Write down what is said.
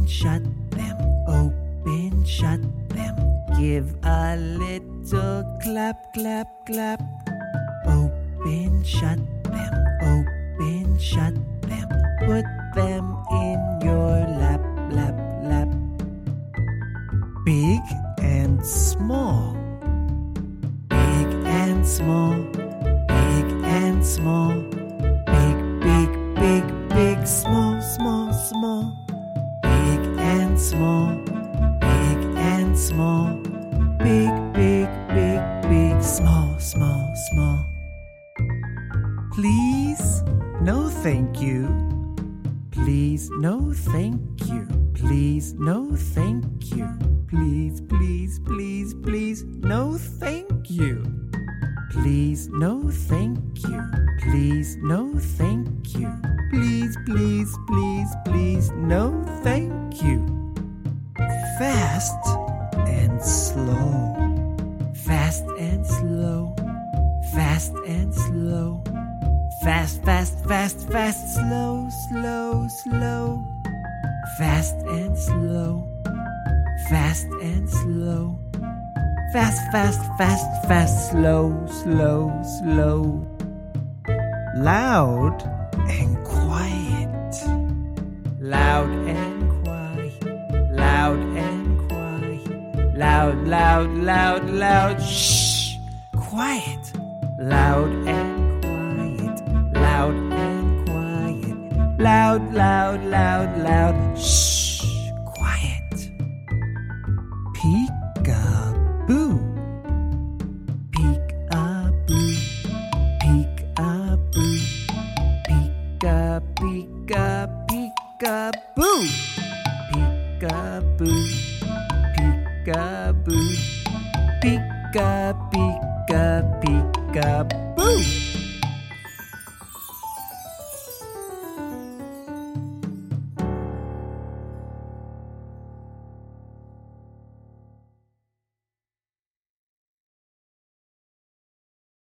shut them, open, shut them. Give a little clap, clap, clap. Open, shut them, open, shut them. Put them in your lap, lap, lap. Big and small, big and small, big and small. Big, big, big, big, small, small, small. Big and small, big and small. Big, big, big, big, small, small, small. Please, no thank you. Please, no thank you. Please, no thank you. Please, please, please, please, no thank you. Please, no thank you. Please, no thank you. Please, please, please, please, no thank you. Fast and slow. Fast and slow. Fast and slow. Fast, fast, fast, fast, slow, slow, slow. Fast and slow. Fast and slow. Fast, fast, fast, fast, slow, slow, slow. Loud and quiet. Loud and quiet. Loud and quiet. Loud, loud, loud, loud. Shh. Quiet. Loud and quiet. Loud and quiet. Loud, loud, loud, loud. Shh. Quiet. Peek-a-boo. Peek-a-boo. Peek-a-boo. Peek-a, peek-a, peek-a-boo. Peek-a-boo. Peek-a, peek-a, peek-a-boo.